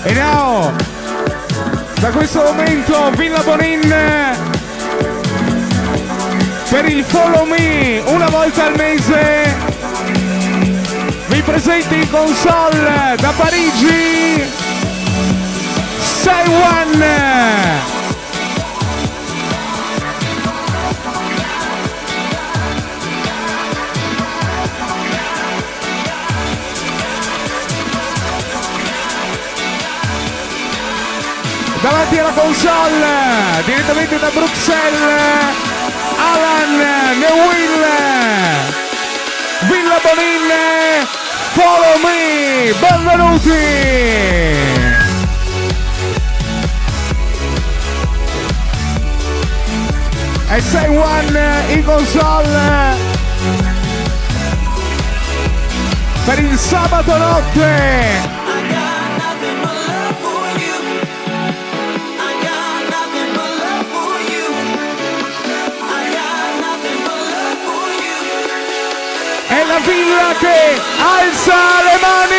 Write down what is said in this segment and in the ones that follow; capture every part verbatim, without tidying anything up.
E now, da questo momento Villa Bonin per il Follow Me una volta al mese vi presenti in console da Parigi Say One. Davanti alla console, direttamente da Bruxelles, Alan Neuwill, Villa Bonin, Follow Me, benvenuti! E Say One in console per il sabato notte. È la Villa che alza le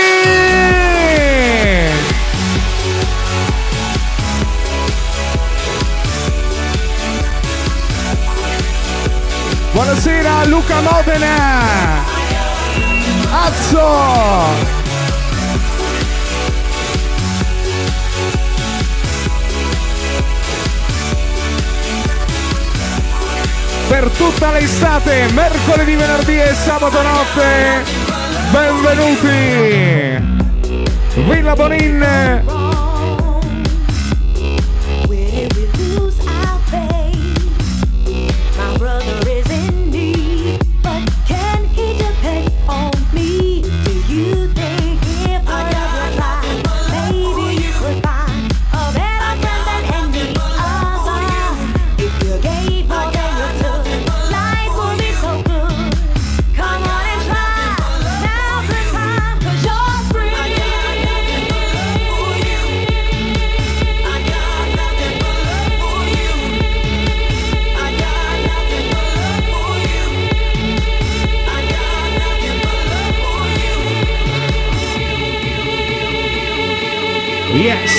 mani! Buonasera Luca Modena! Azzo! Per tutta l'estate, mercoledì, venerdì e sabato notte, benvenuti! Villa Bonin! Yes!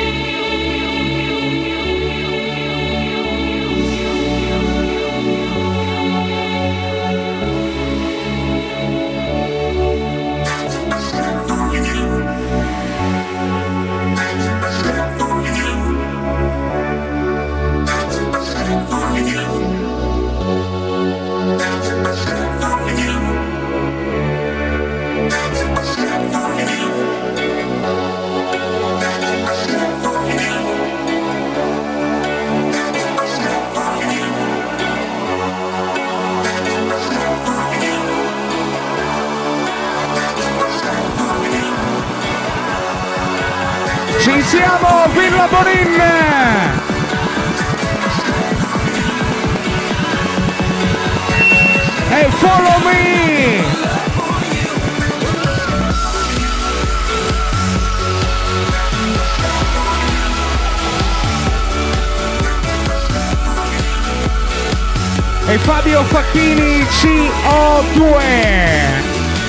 Ci siamo, Villa Bonin! E Follow Me! E Fabio Facchini C O due!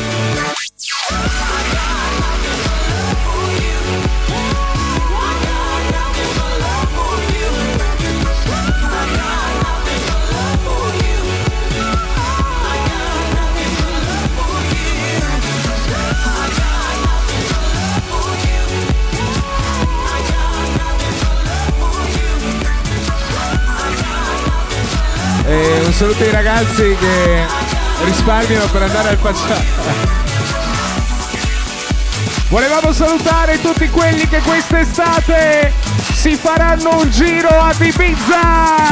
E un saluto ai ragazzi che risparmiano per andare al Paccià. Volevamo salutare tutti quelli che quest'estate si faranno un giro ad Ibiza.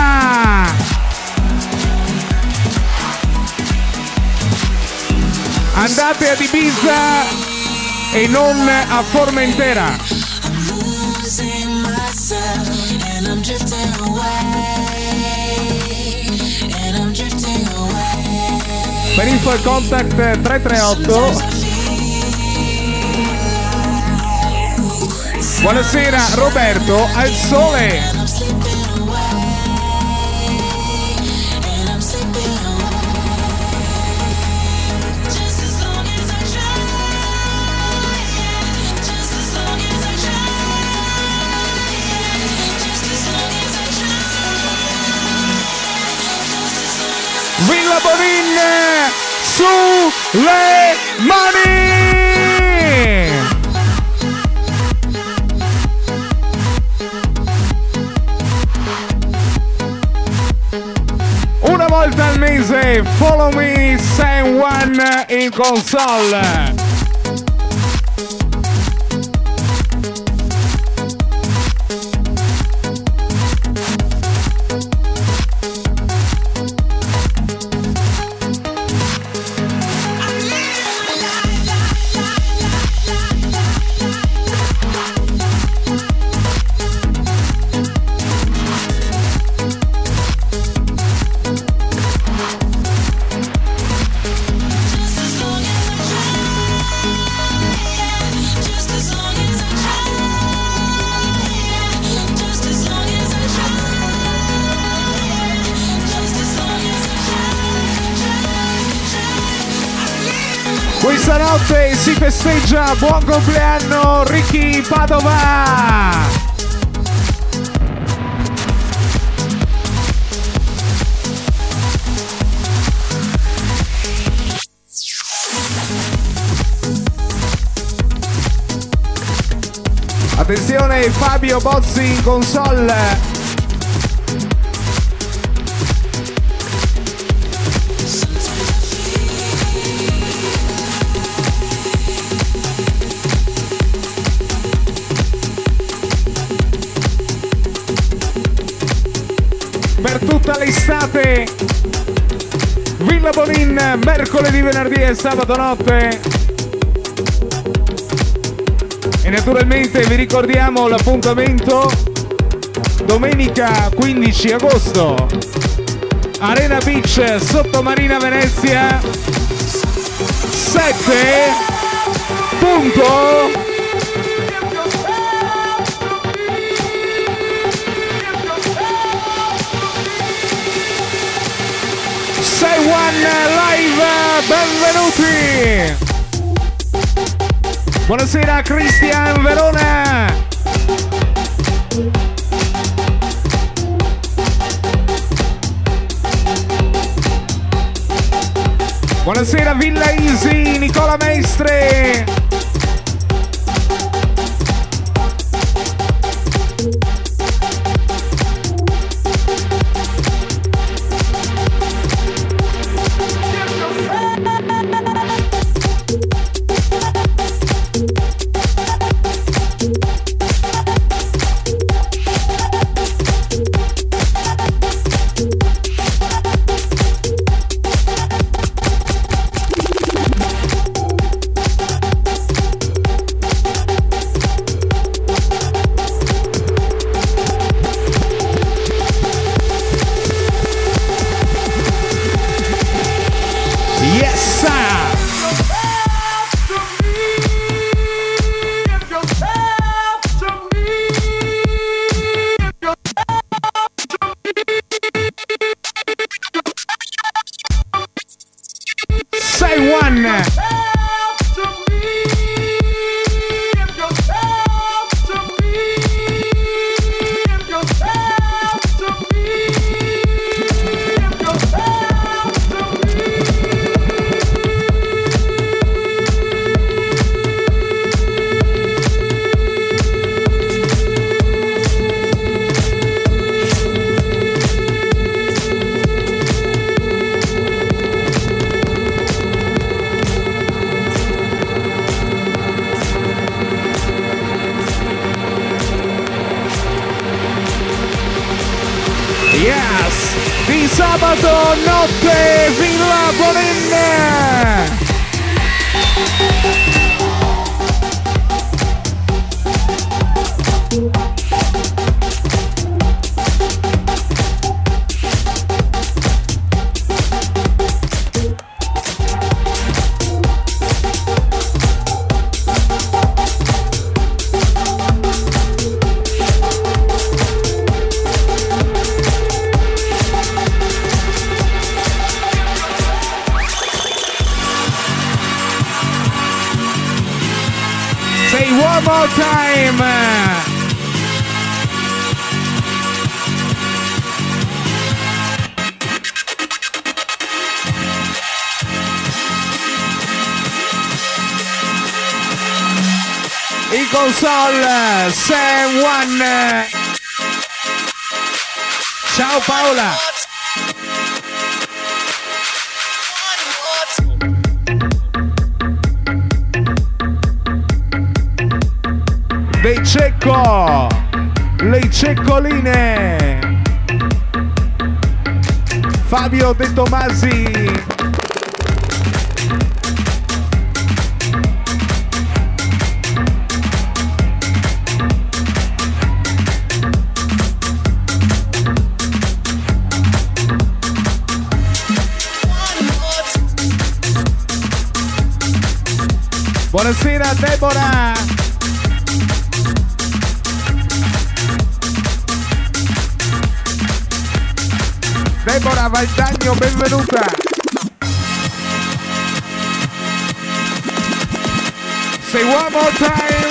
Andate ad Ibiza e non a Formentera. Per info e contact tre tre otto. Buonasera Roberto al sole. su le mani! Una volta al mese, follow me, San One in console. Questa notte si festeggia, buon compleanno Ricky Padova! Attenzione, Fabio Bozzi in console. Per tutta l'estate, Villa Bonin, mercoledì, venerdì e sabato notte. E naturalmente vi ricordiamo l'appuntamento domenica quindici agosto, Arena Beach, Sottomarina Venezia, sette punto sei One Live, benvenuti! Buonasera Cristian Verona! Buonasera Villa Easy, Nicola Mestre! Sabato notte Villa Bonin. One more time. console, Sam One. Ciao Paola. Dei Cecco, le Ceccoline, Fabio De Tomasi. Buonasera Deborah. Deborah Valdagno, benvenuta. Say one more time.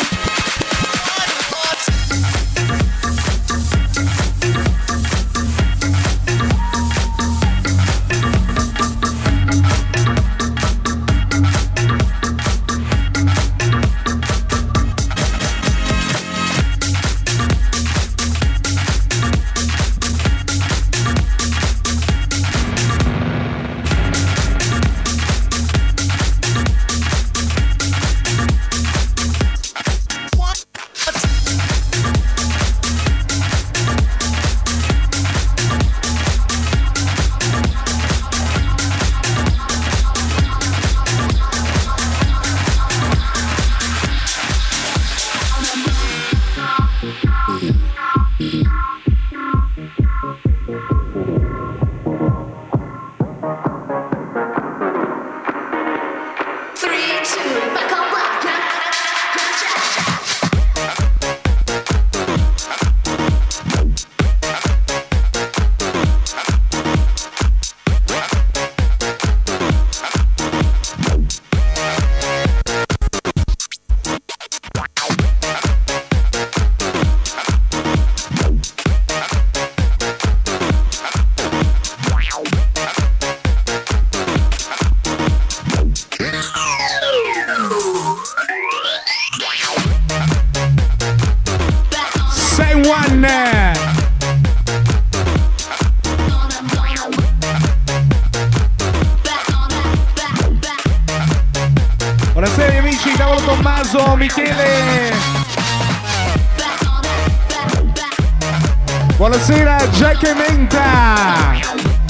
Buonasera amici, Cavolo Tommaso, Michele. Buonasera Jack e Menta.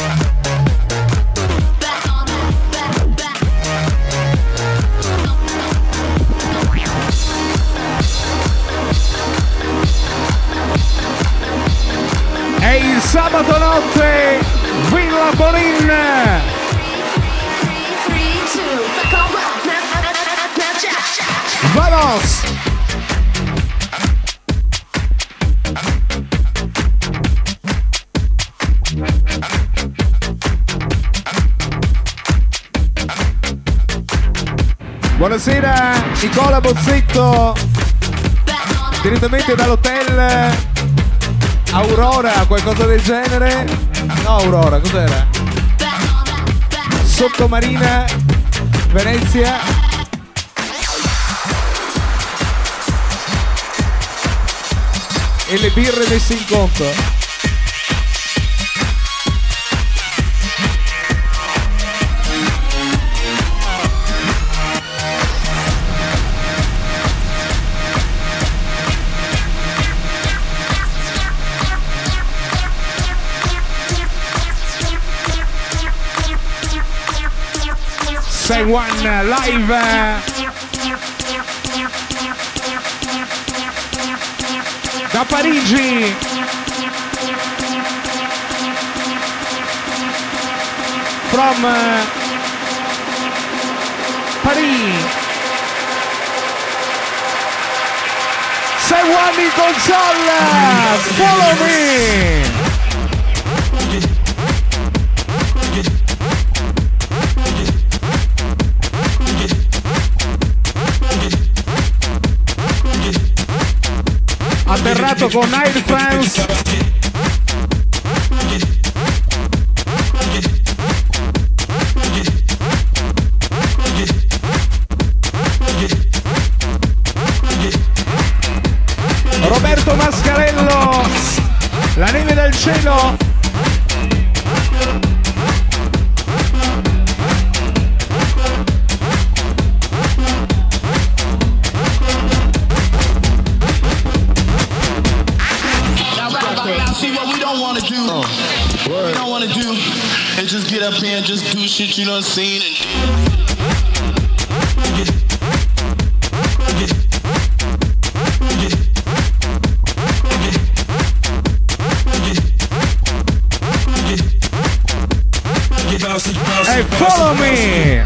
È il sabato notte, Villa Bonin. Vamos! Buonasera Nicola Bozzetto, direttamente dall'hotel Aurora, qualcosa del genere? No, Aurora, cos'era? Sottomarina, Venezia. E le birre messe in conto. Say One live da Parigi. From uh, Paris. Say One in console. Follow me. Atterrato con Air France. Roberto Mascarello, la neve del cielo. See what we don't want to do. Oh, what we don't want to do is just get up here and just do shit you done seen and Hey, follow me.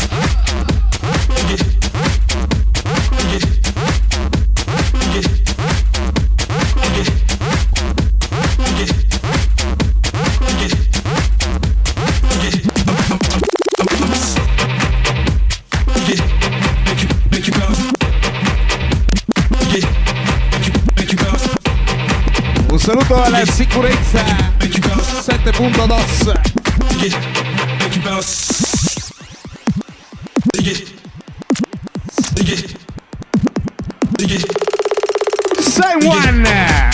Un saluto alla sicurezza sette punto dos. Say one.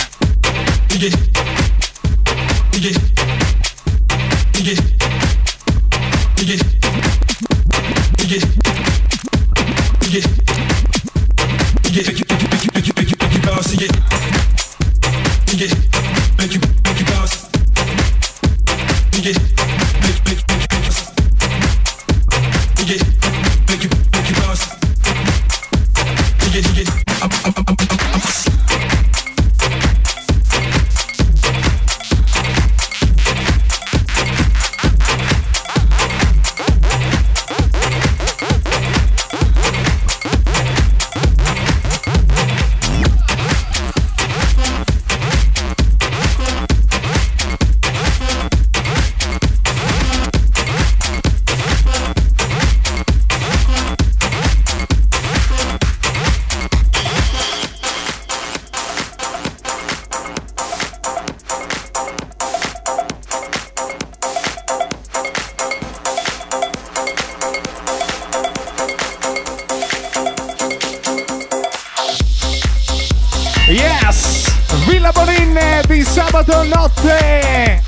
Yes! Villa Bonin di sabato notte!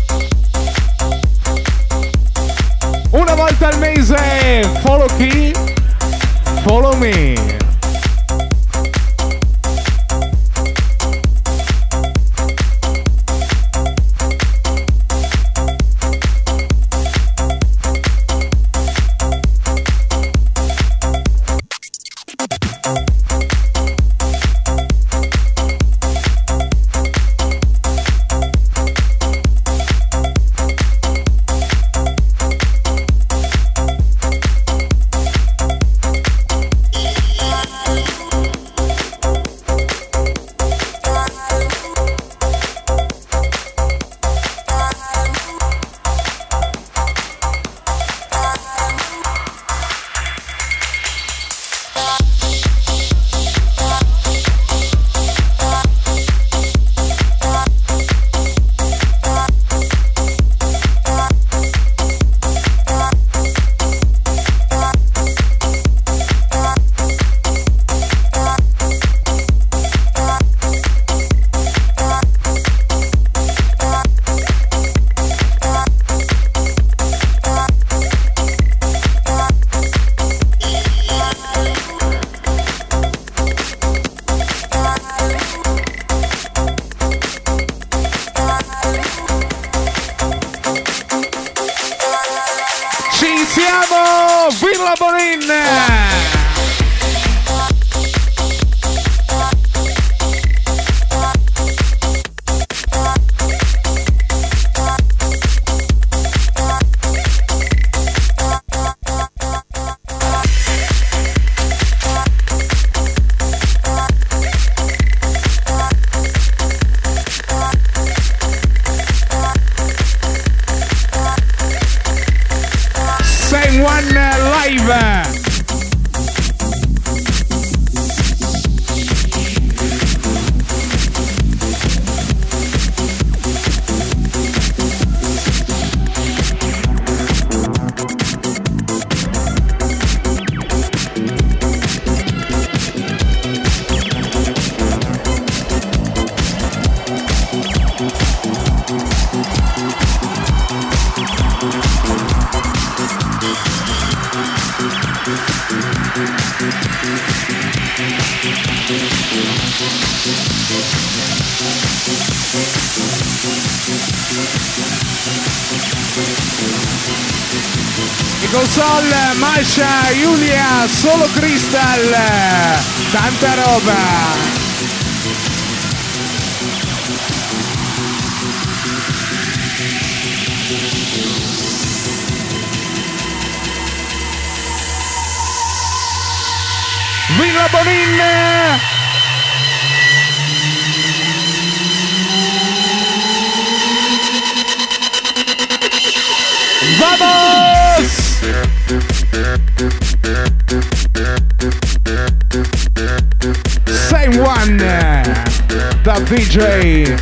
Una volta al mese, follow chi? Follow me! Siamo Villa Bonin! One live I console, Masha, Giulia, solo Crystal, tanta roba. Villa Bonin! Vamos! Same one, the D J.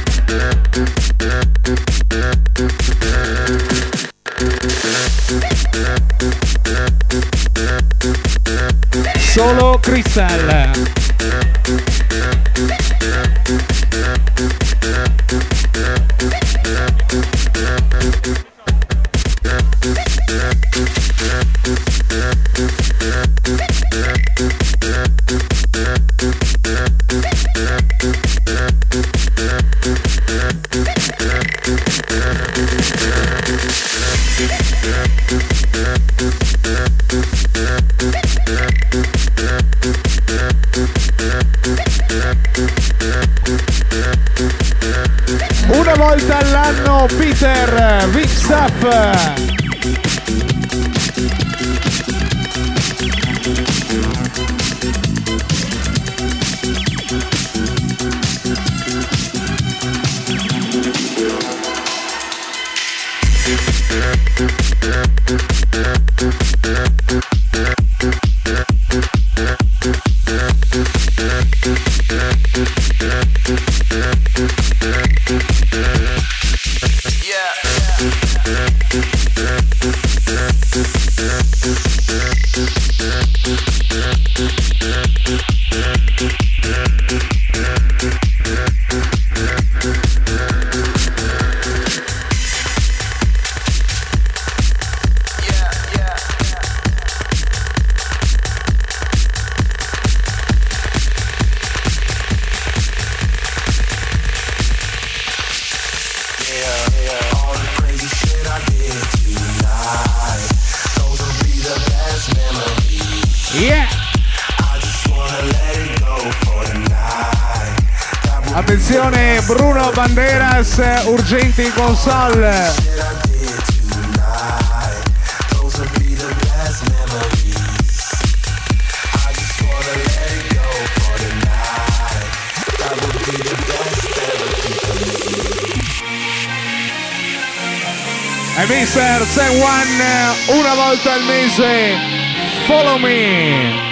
Solo Crystal. Una volta all'anno Peter Wingstaff. Attenzione, Bruno Banderas, urgenti in console. E mister San Juan una volta al mese, follow me.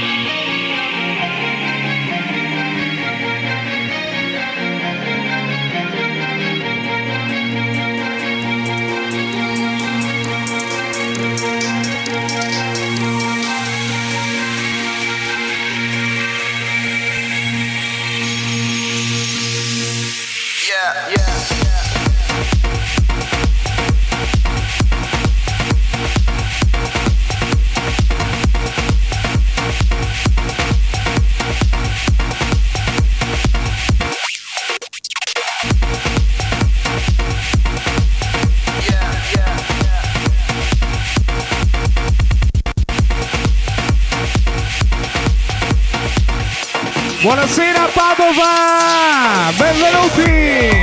Buonasera Padova, benvenuti!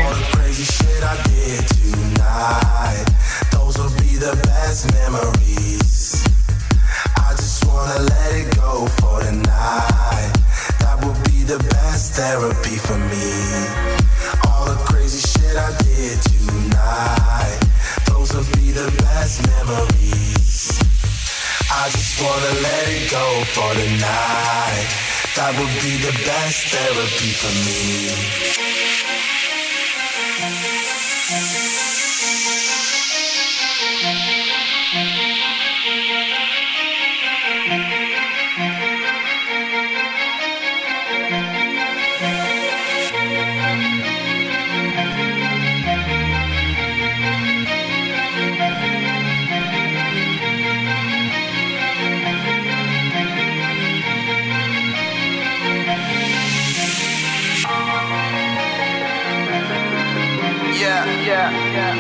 Therapy for me. All the crazy shit I did tonight, those will be the best memories. I just wanna let it go for the night. That would be the best therapy for me. yeah, yeah.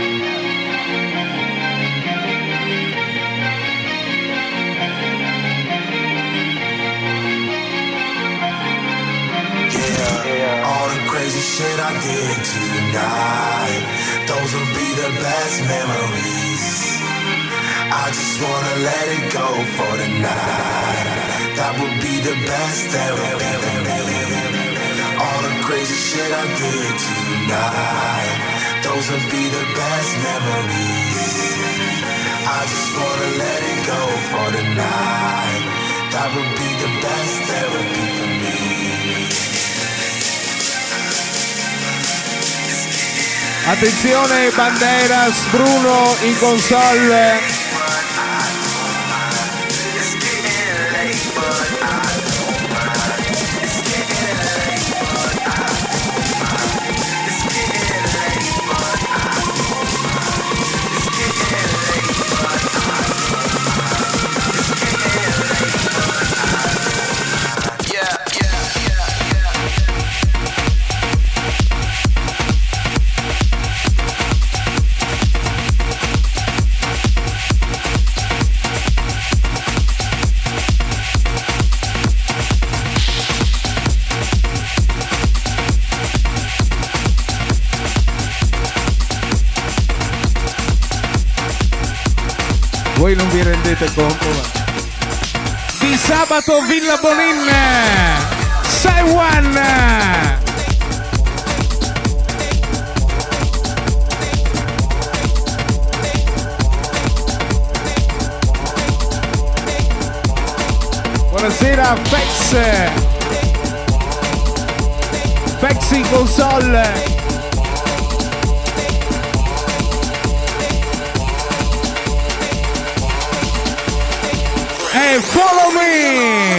Yeah, all the crazy shit I did tonight, those will be the best memories. I just wanna let it go for the night. That would be the best therapy for me. All the crazy shit I did tonight, those will be the best memories. I just wanna let it go for the night. That would be the best therapy for me. Attenzione, Banderas, Bruno in console. Voi non vi rendete conto, ma... Di sabato Villa Bonin Saiwan. Buonasera Fex Fex in console. E follow me!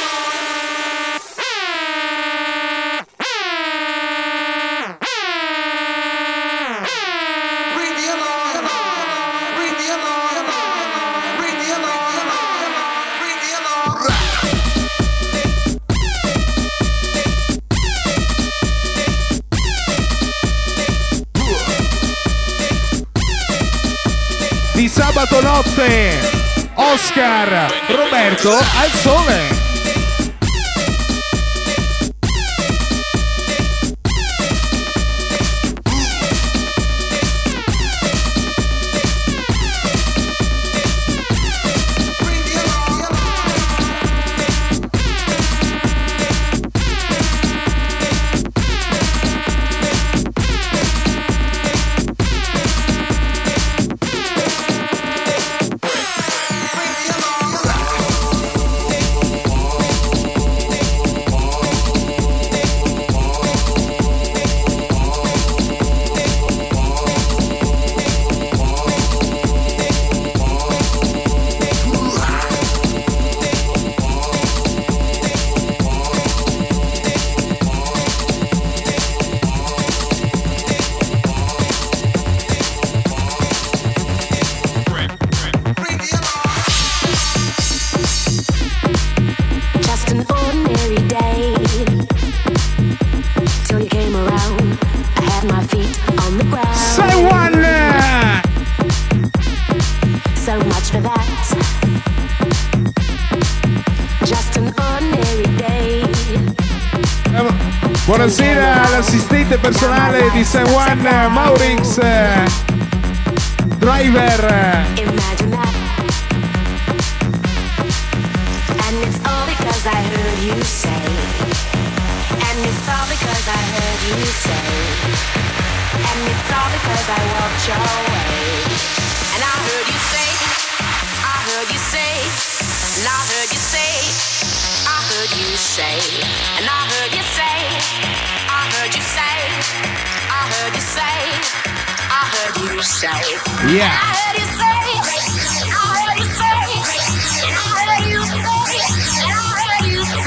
Di sabato notte Oscar Roberto al sole. Buonasera all'assistente personale di San Juan, Maurix Driver. Yeah. I heard you say, I heard you say, I heard you say, I heard you say,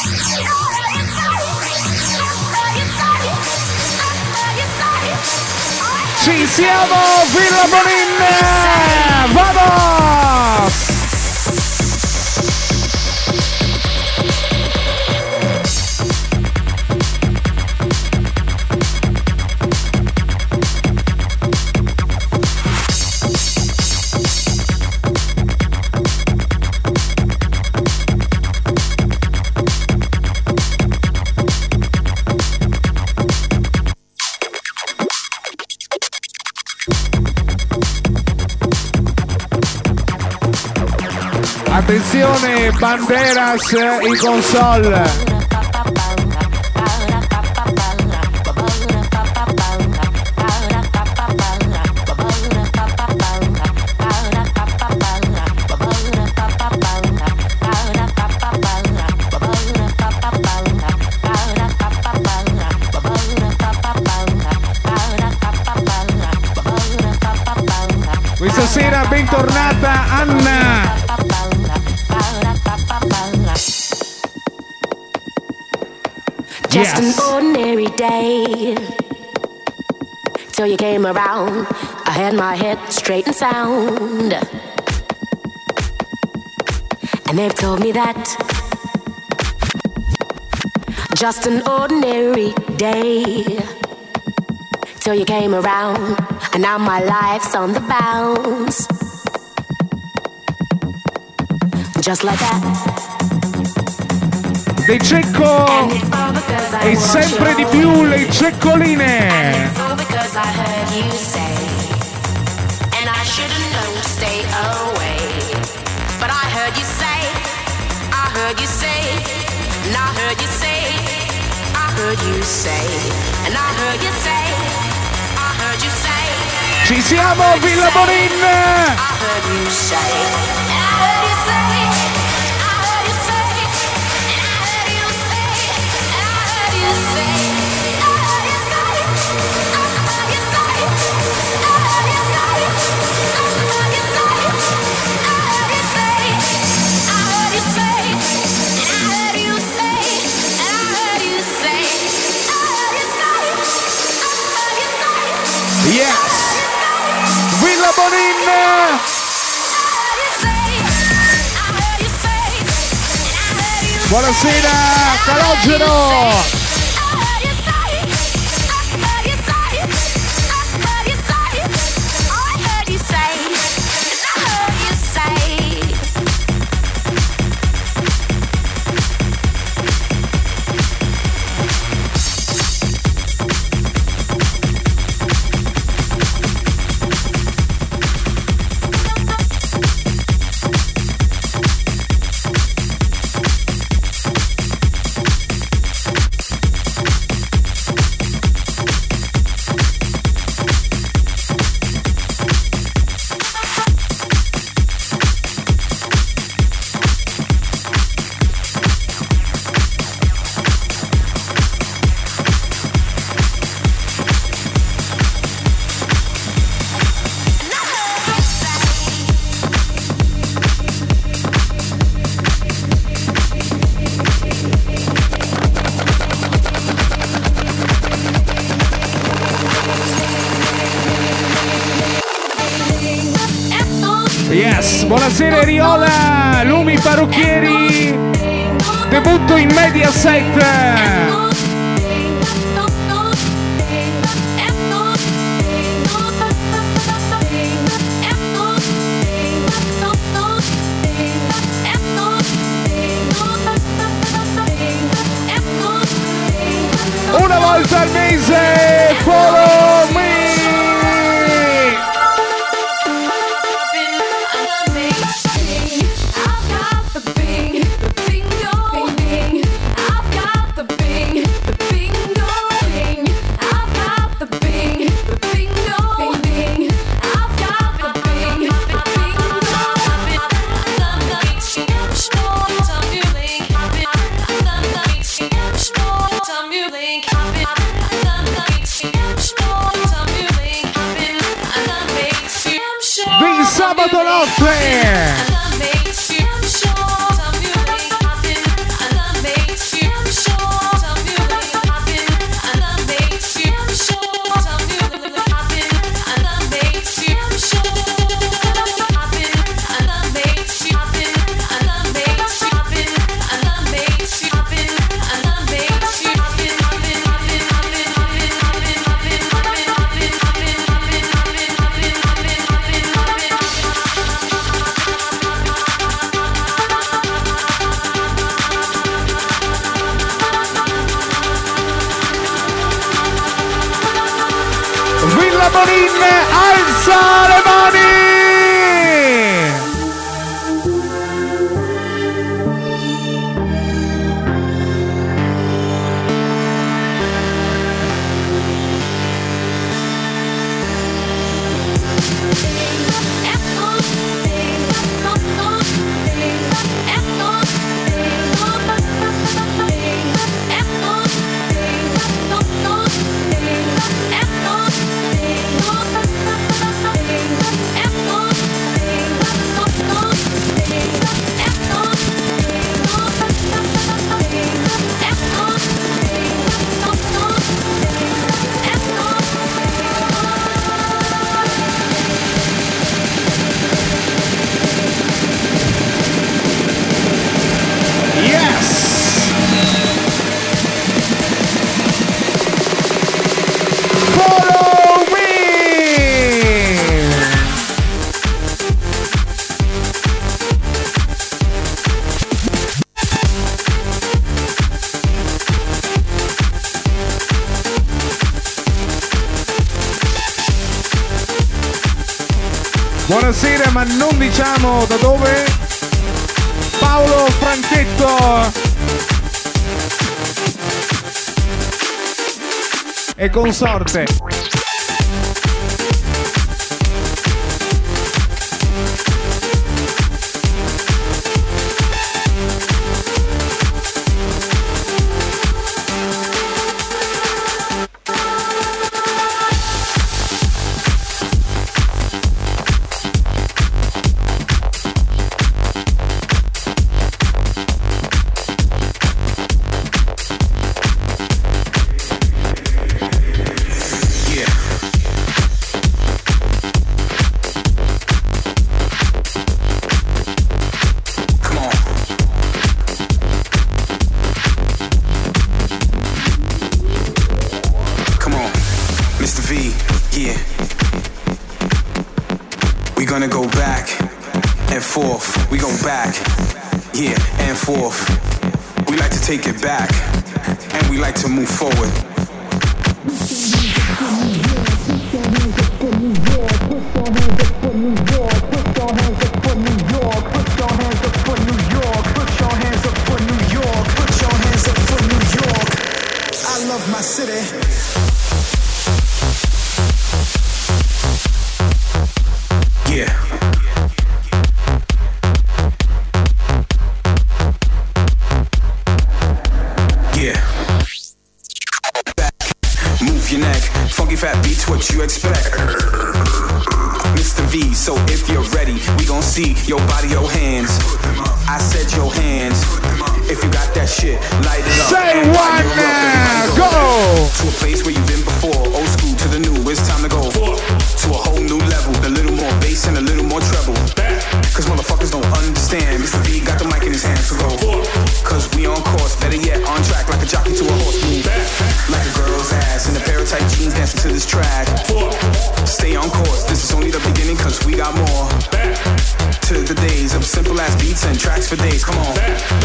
ci siamo, Villa Bonin, vamos! Attenzione, Banderas in console. Questa sera bentornata Anna. Just Yes. an ordinary day till you came around. I had my head straight and sound, and they've told me that just an ordinary day till you came around, and now my life's on the bounce, just like that. Dei Cecco And it's all because I e want sempre you. di più le ceccoline. It's all because I heard you say, and I should've known to stay away. But I heard you say, I heard you say, and I heard you say, I heard you say, and I heard you say, I heard you say. Ci siamo, Villa Bonin! I heard you say, and I heard you say, I heard you say, and I heard you say, and I heard you say, I heard you say, I heard you say, I heard you say, I heard you say, I heard you say, I heard you say, and I heard you say, and I heard you say, I heard you say, I heard you say. Yes! Villa Bonin! Buonasera, Calogero! Yes, buonasera Riola, Lumi Parrucchieri, debutto in Mediaset. Una volta al mese, follow me. Di sabato notte. Villa Bonin, alza le mani! Buonasera, ma non diciamo da dove. Paolo Franchetto e consorte. Take it back, and we like to move forward. I love my city. Yeah. Fat beats, what you expect? Mister V, so if you're ready, we gon' see your body, your hands. I said your hands. If you got that shit, light it up. Say one now, go! To a place where you've been before, old school to the new, it's time to go. To a whole new level, a little more bass and a little more treble. Cause motherfuckers don't understand, Mister V got the mic in his hands, so go. Cause we on course, better yet, on track, like a jockey to a horse move. Like a girl's ass in a pair of tight jeans dancing to this track. Stay on course, this is only the beginning cause we got more. To the days of simple ass beats and tracks for days, come on.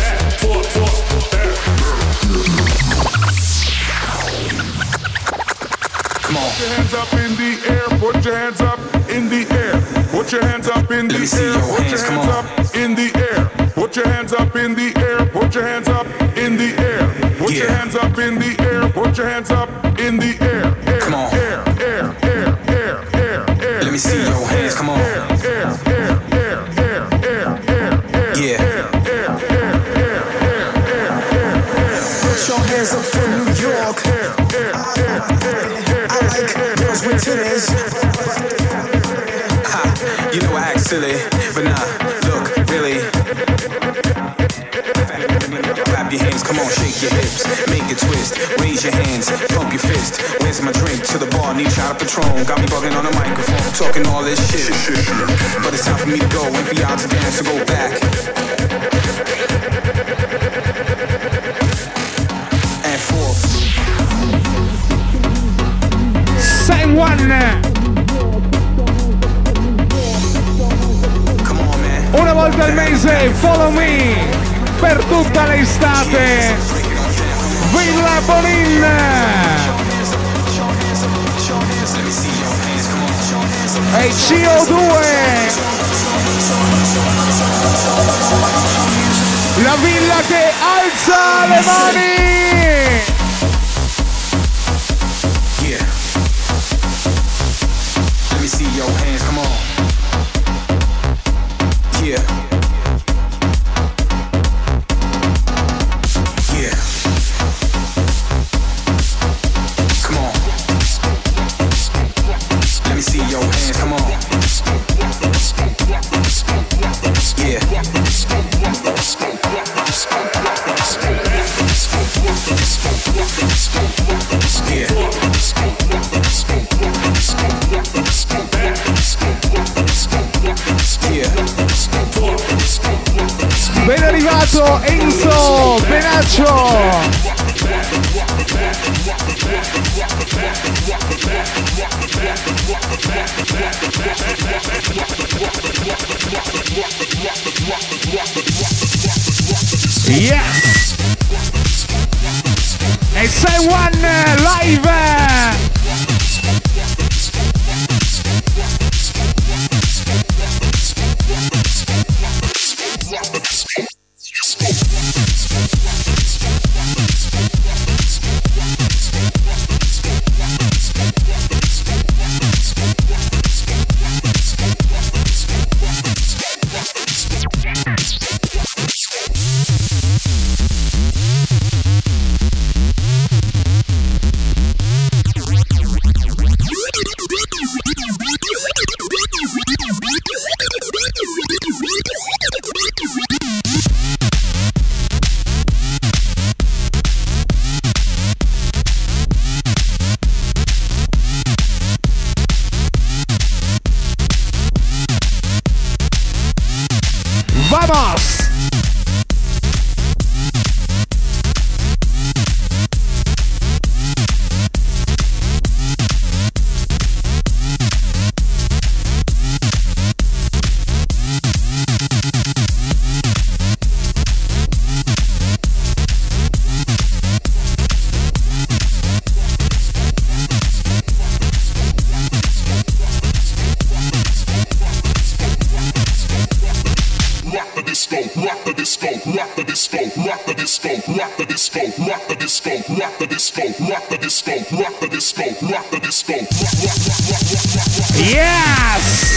Come on. Put your hands up in the air, put your hands up in the air. Put your hands up in the Let me see air, your put hands, your come hands on. up in the air. Put your hands up in the air, put your hands up in the air. Put your Yeah. hands up in the air, put your hands up in the air. Air, Come on. air, air, air, air, air, air. Let me see your hands, come on. Air, air, air, air, air, air, air, air. Yeah. Air, air, air, air, air, air, air. Put your hands up for New York. Air, air, air, air, air. I like girls with titties. Ha, you know I act silly, but nah, look, really. Clap your hands, come on, shake your hips, make it twist, raise your hands, pump your fist. Where's my drink? To the bar, need shot of Patron. Got me bugging on the microphone, talking all this shit. But it's time for me to go, and for y'all to dance, so go back. And forth. Say one. Come on, man. Una volta al mese, follow me. Per tutta l'estate. Villa Bonin. E C O due. La villa che alza le mani. Yeah. Let me see your hands, come on. Yeah. Yeah. Come on. Let me see your hands, come on. Yeah. Ben arrivato Enzo Benaccio. Yes. E sei one live. rock the disco, rock the disco, rock the disco, rock the disco, rock the disco, rock the disco, rock the disco, rock the disco, rock the disco. Yes!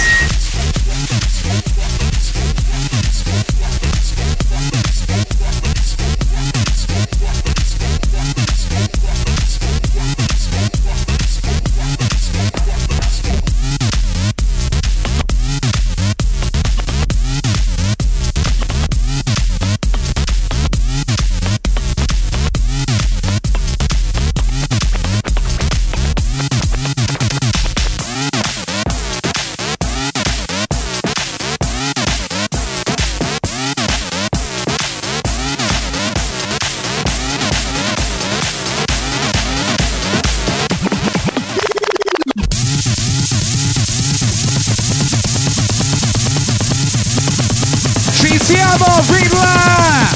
Siamo, Villa!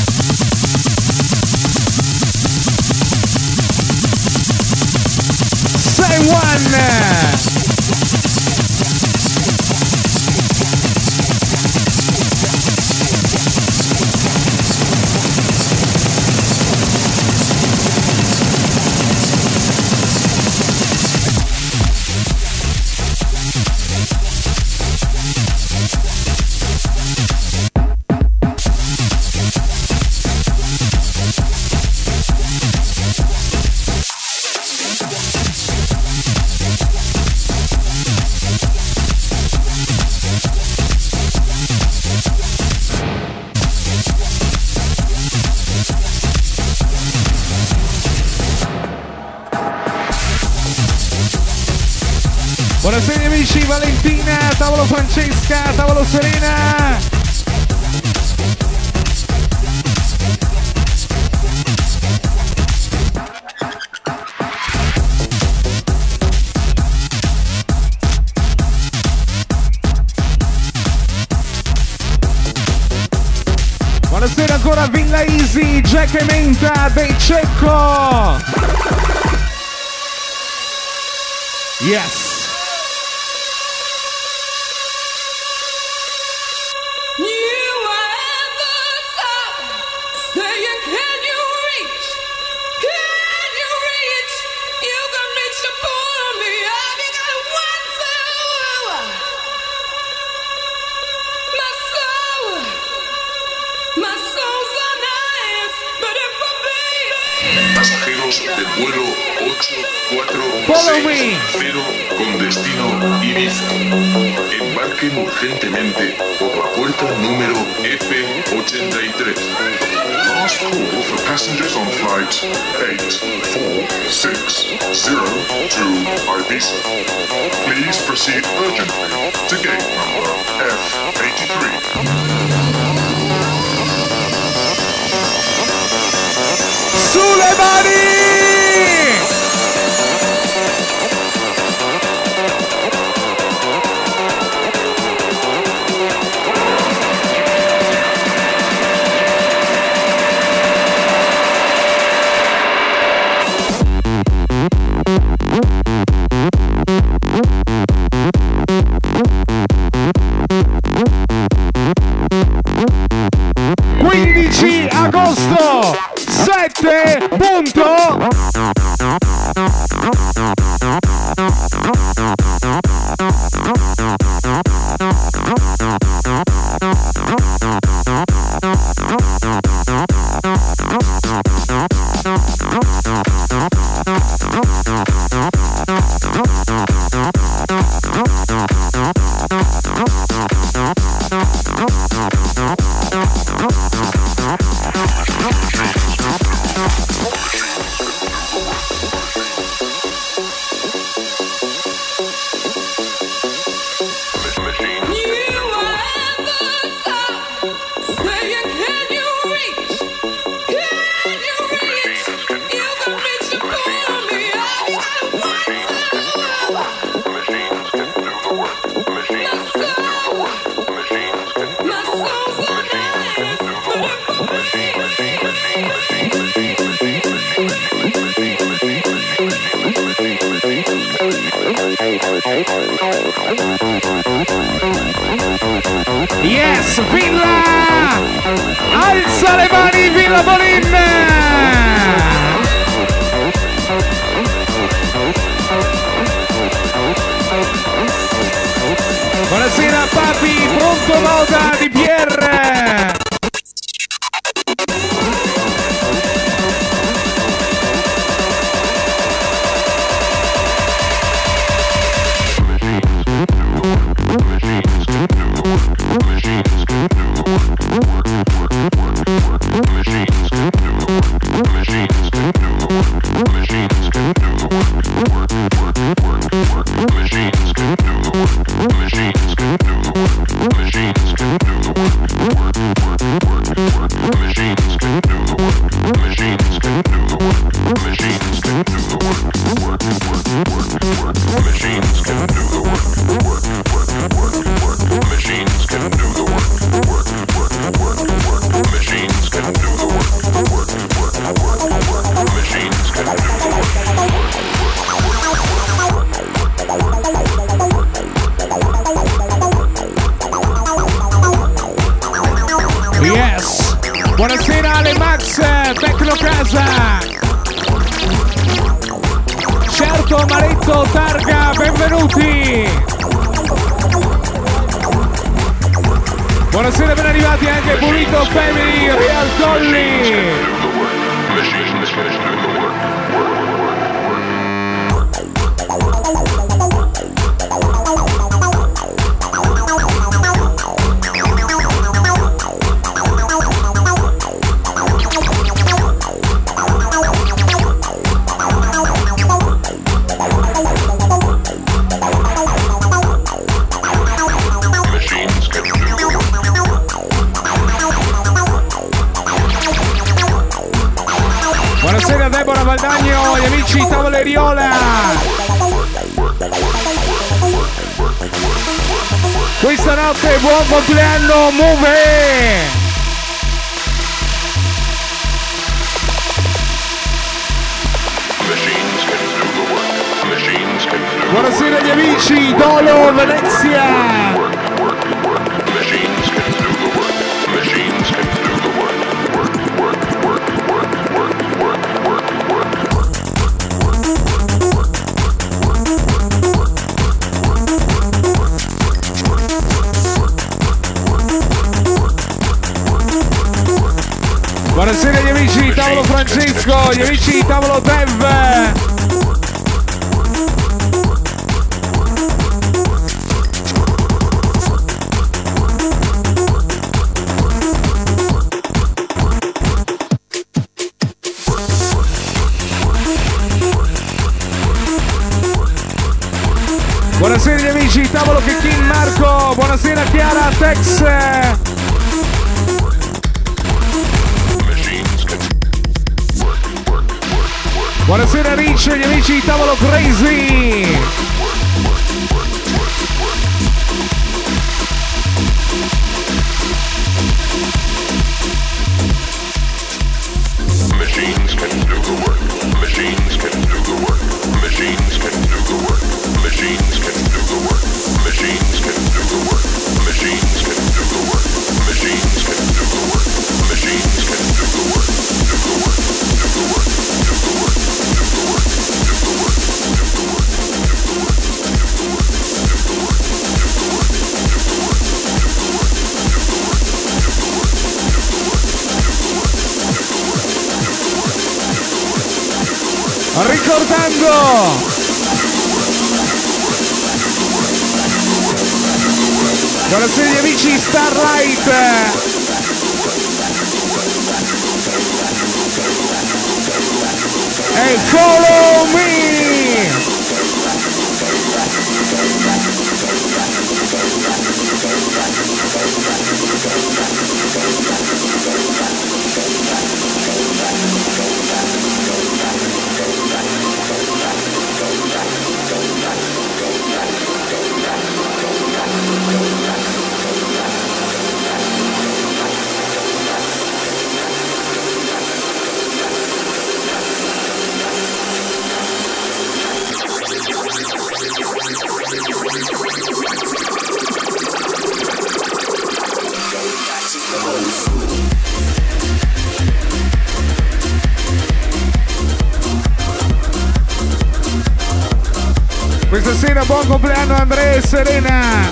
Say one! Buonasera amici, Valentina, tavolo Francesca, tavolo Serena. Buonasera ancora Villa Easy, Jack e Menta dei Cecco. Yes. Del vuelo ocho cuatro seis cero con destino Ibiza. Embarquen urgentemente por la puerta número F ochenta y tres. Last call for passengers on flight eight four six zero to Ibiza. Please proceed urgently to gate number F eighty-three. Sulle mani! quindici agosto sette punto Yes, Villa! Alza le mani, Villa Bolin! Buonasera papi, pronto moda di Pierre! Buonasera Ale Max, Tecno Casa. Certo Maretto, Targa, benvenuti. Buonasera, ben arrivati anche Pulito Family, Real Colli. Buonasera Deborah Valdagno, gli amici Tavolieriola. Questa notte buon compleanno Move. Buonasera gli amici Dolo Venezia. Buonasera gli amici di Tavolo Francesco, gli amici di Tavolo Dev. Buonasera gli amici di Tavolo Checkin Marco, buonasera Chiara Tex. Buonasera Rich, gli amici di Tavolo Crazy. Machines can do the work. Machines can do the work. Machines can do the work. Machines can do the work. Machines can do the work. Machines can do the work. Machines can do the work. Machines can do the work. Do the work. Do the work. Do the work. Do the work. Do the work. Do the work. Ricordando buonasera gli amici Starlight e Follow Me. Buonasera, buon compleanno Andrea e Serena.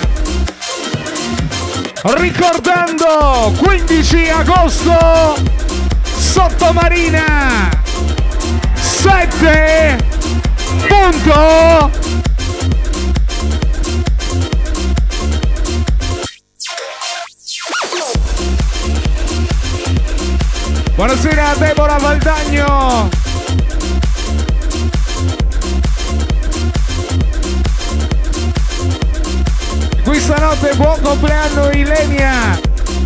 Ricordando quindici agosto Sottomarina sette punto buonasera Deborah Valdagno. Qui stanotte buon compleanno Ilenia.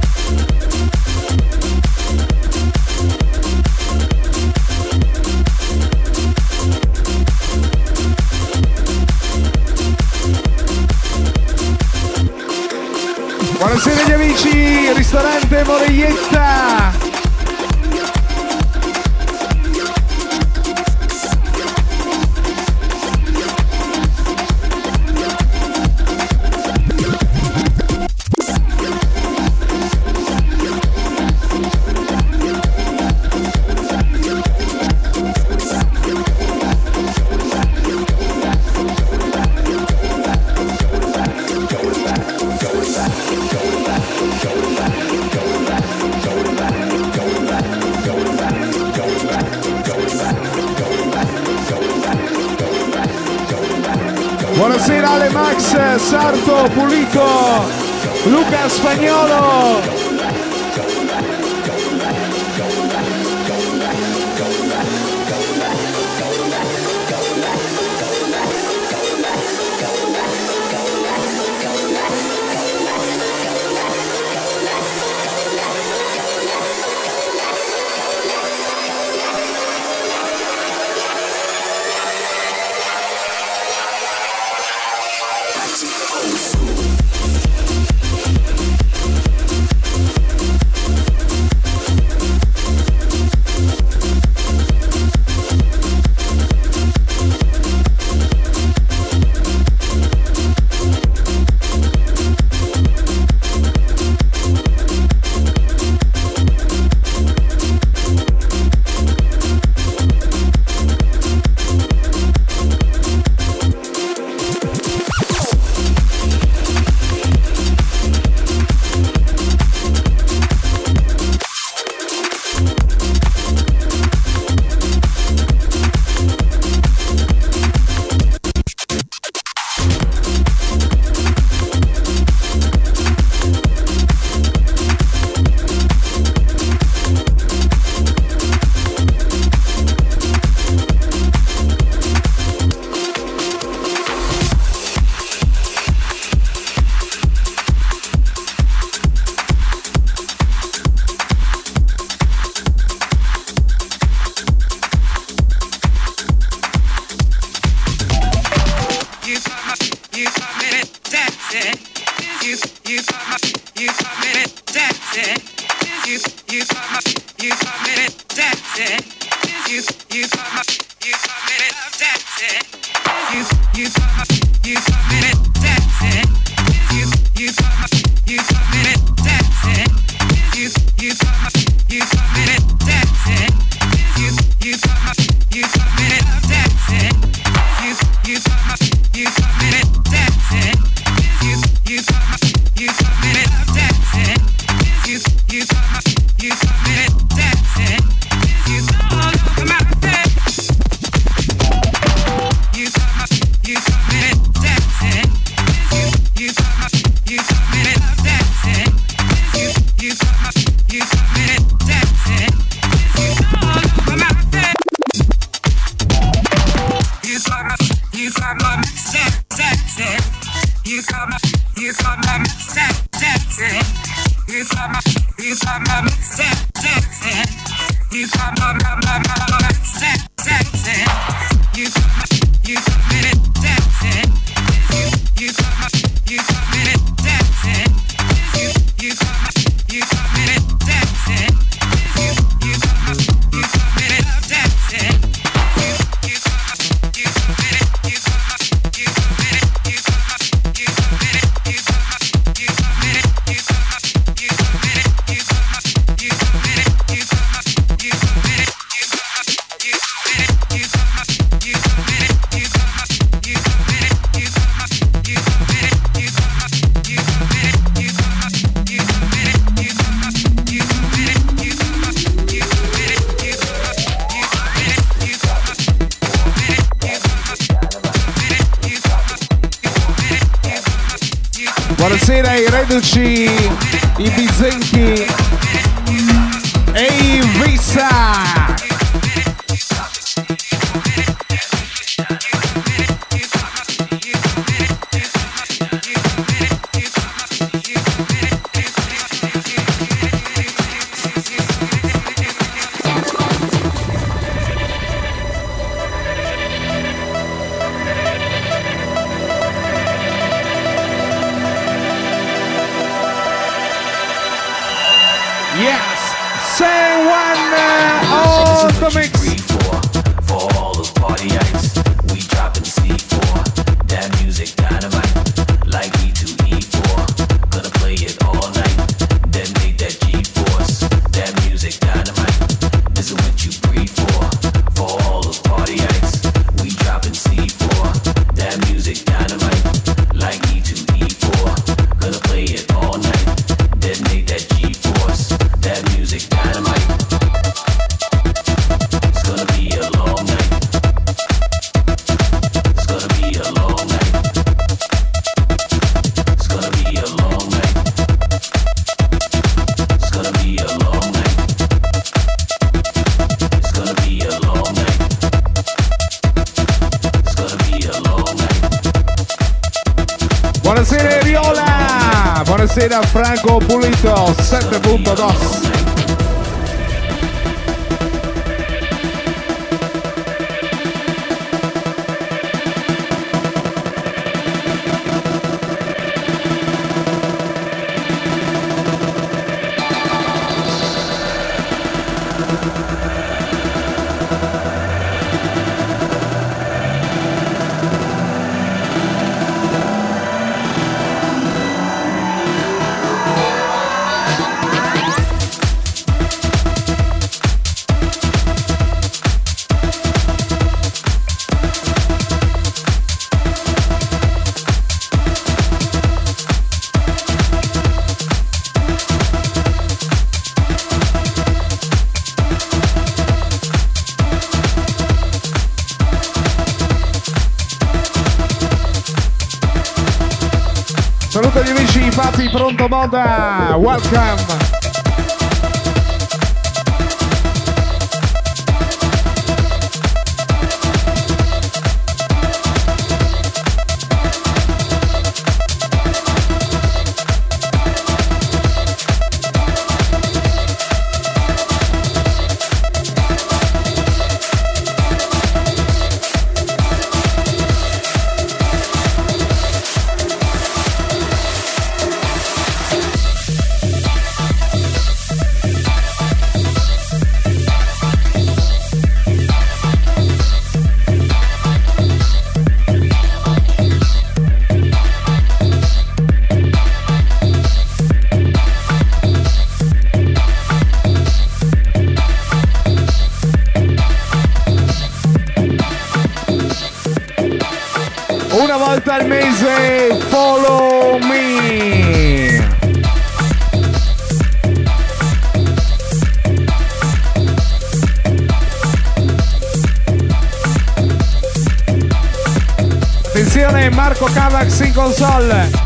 Buonasera gli amici, ristorante Moreietta. Buonasera Ale Max, Sarto, Pulito, Luca Spagnolo. Buonasera ai reduci, i Bizenchi e i Vissa. Mix. For all those party acts, we dropping C four. That music dynamite, like E two E four. Gonna play it all night, detonate that G-force. That music dynamite, this is what you breathe for. For all those party acts, we dropping C four. That music dynamite, like E two E four. Gonna play it all night, detonate that G-force. That music dynamite. Buonasera Riola, buonasera Franco Pulito, sette punto due. Saluto agli amici Papi Pronto Moda, welcome! Una volta al mese, follow me. Attenzione, Marco Cavax in console.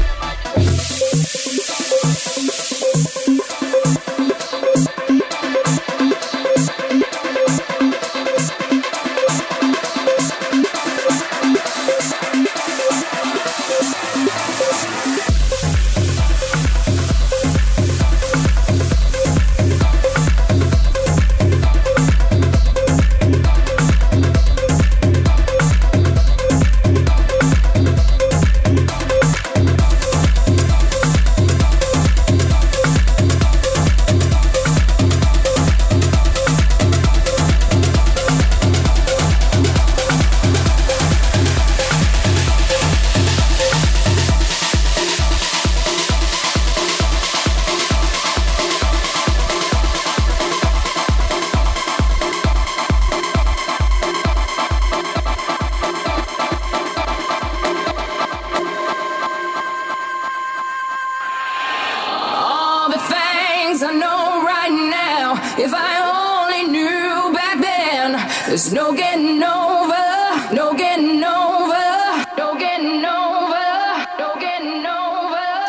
There's no getting over, no getting over, no getting over, no getting over.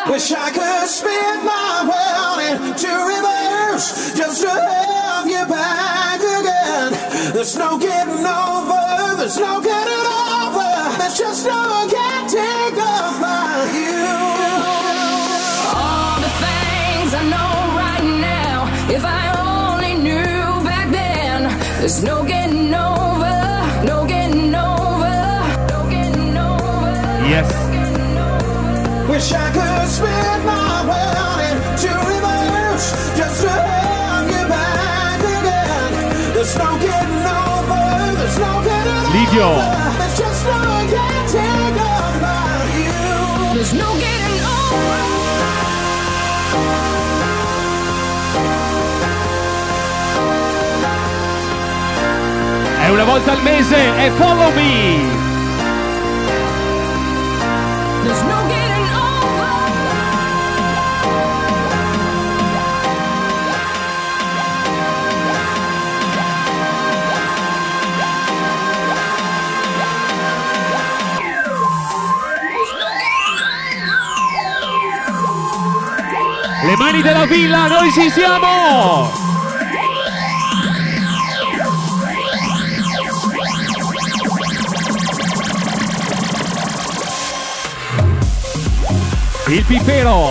Wish I could spin my world into reverse just to have you back again. There's no getting over, there's no getting over, there's just no getting over you. All the things I know right now, if I only knew back then, there's no getting over, no getting over, no getting over. Yes. Wish I could spin my world into reverse just to have you back again. There's no getting over, there's no getting Livio. over, there's just no getting over you. There's no getting over. È una volta al mese, è Follow Me. There's no getting Le mani della villa, noi ci siamo! Il pipero!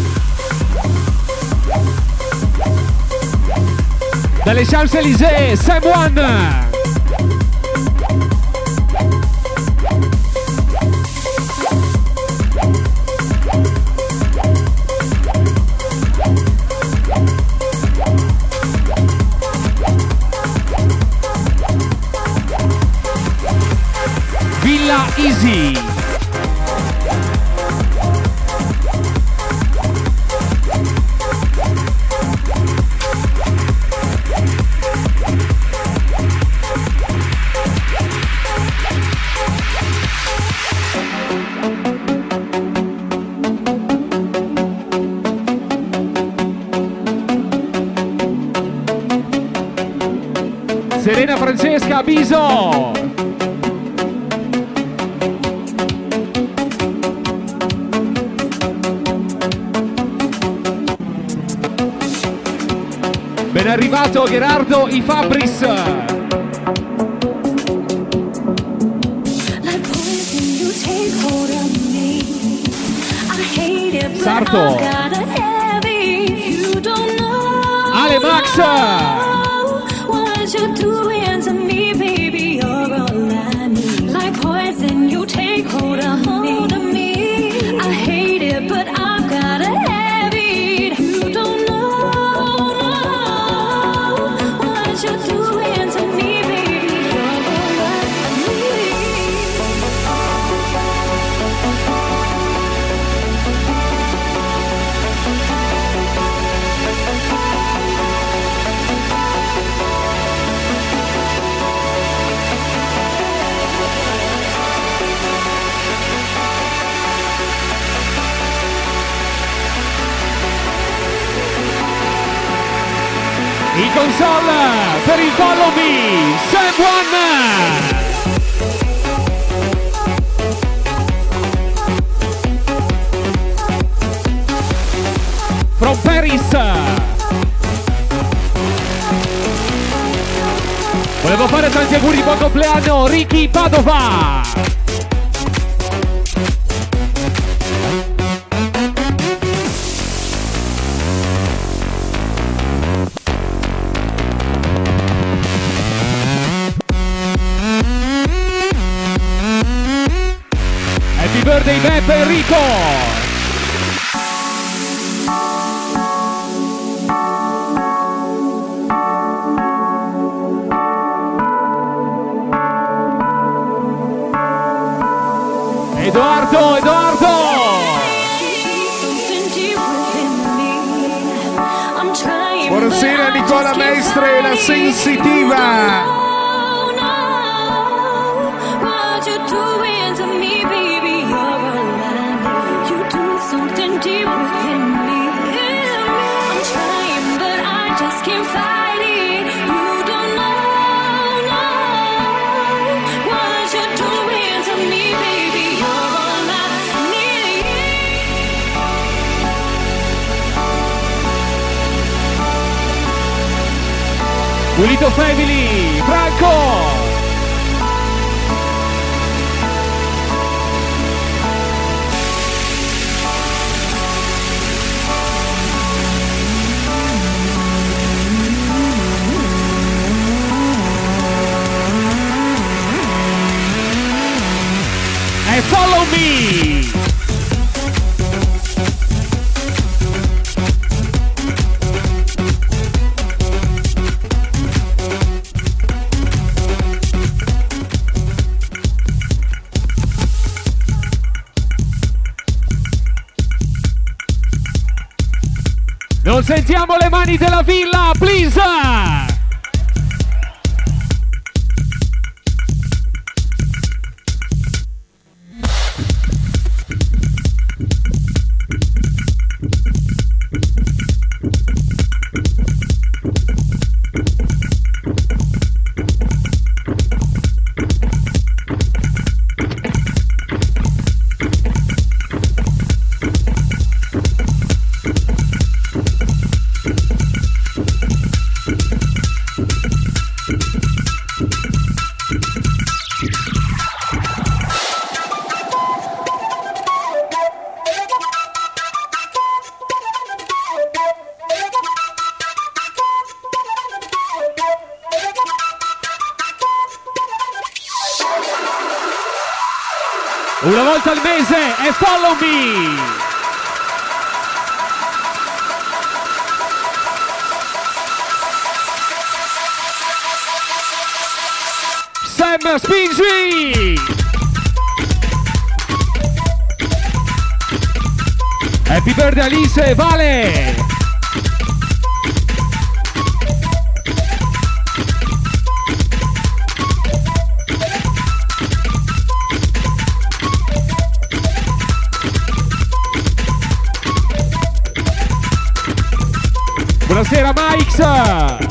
Dalle Champs-Élysées, Sam One! Villa Easy. Serena Francesca Biso. Ben arrivato Gerardo I Fabris. Sarto. Ale Max. In console per il Follow Me, Sam One. From Paris. Volevo fare tanti auguri di buon compleanno Ricky Padova. Happy birthday Beppe Enrico. Edoardo, Edoardo! Buonasera Nicola Mestre, la sensitiva! Pulito Family, Franco. E follow me. Non sentiamo le mani della villa, please! Una volta al mese e follow me! Sam spingi! Happy birthday Alice, Vale! Buonasera Mike!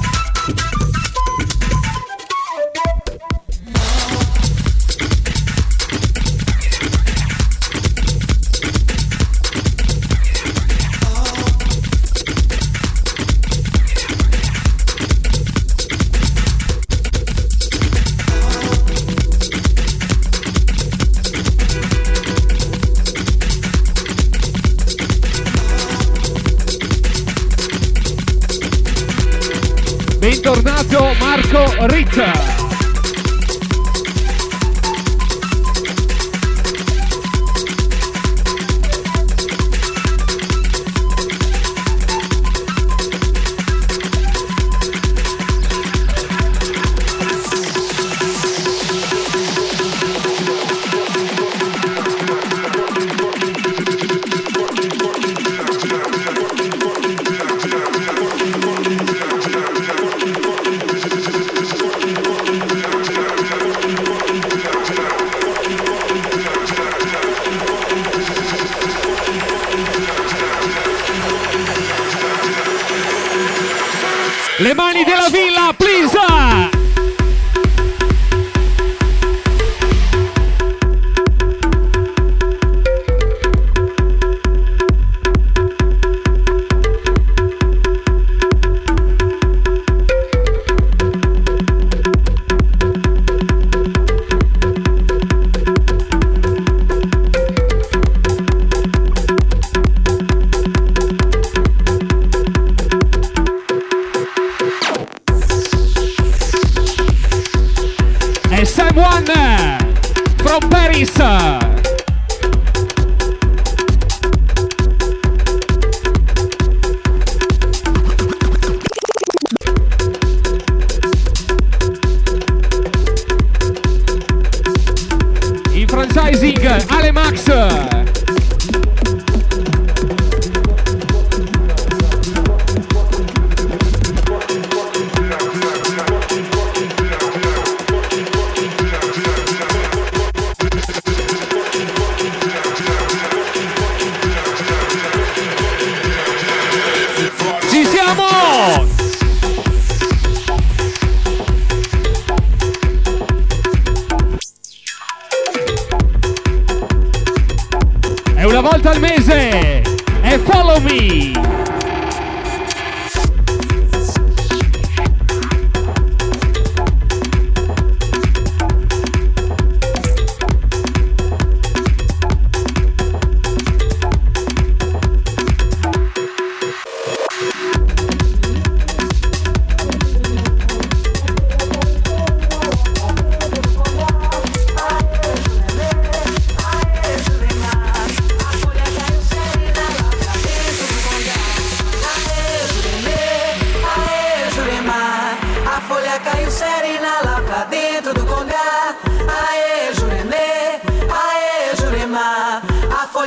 Bentornato Marco Ritta. Le mani della villa, please! From Paris. In franchising Ale Max. Una volta al mese e follow me.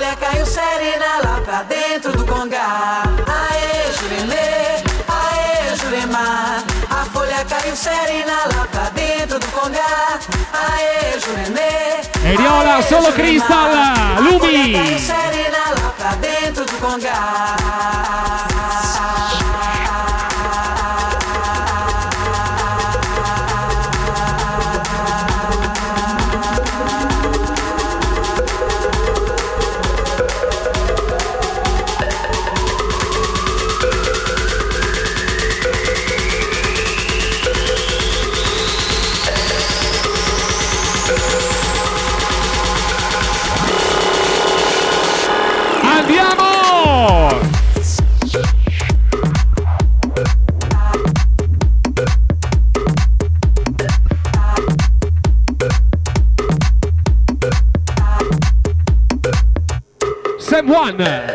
folha caiu serena lá pra dentro do congá. Aê, Juremê, aê, Jurema. A folha caiu serena lá pra dentro do congá. Aê, Juremê. Eriola, solo Crystal, Lumi. Caiu serena lá pra dentro do congá. Andiamo! Sam One.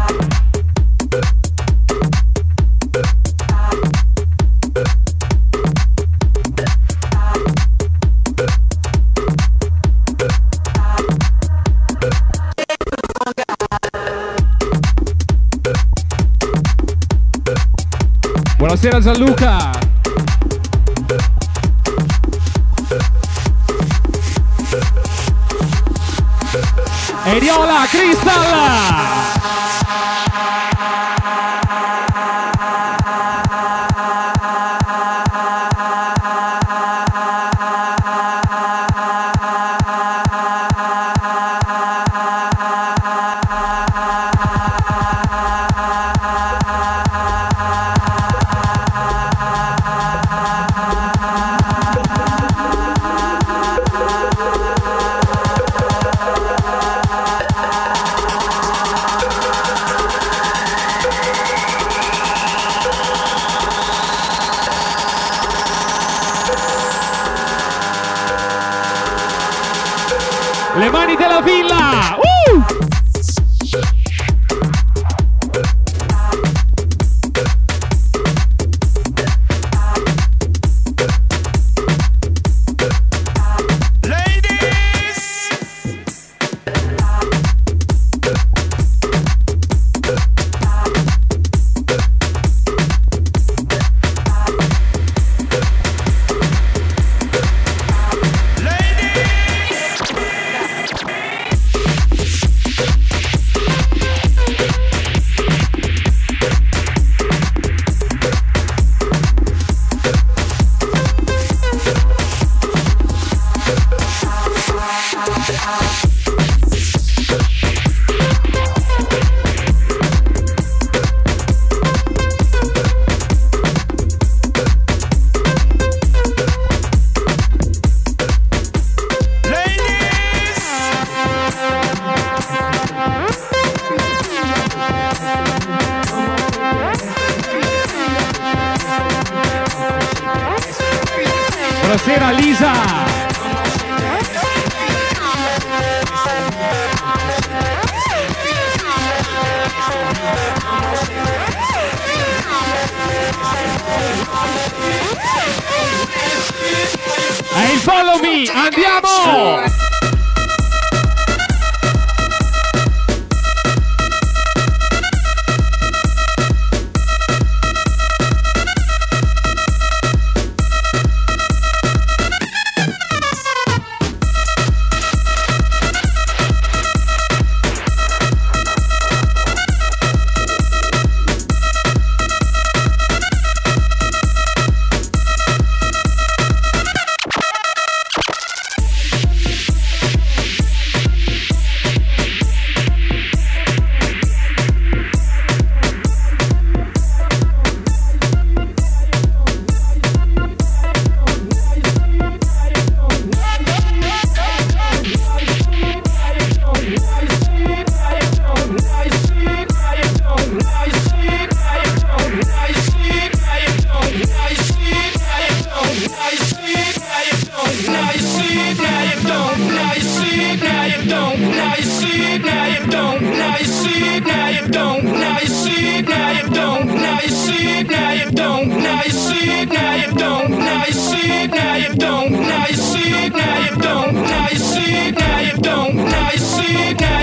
Buonasera Gianluca. Eriola, Crystal. Le mani della villa! Uh! Buonasera Lisa. E il follow me, andiamo! Now you see it, now you don't. Now you see it, now you don't. Now you see it, now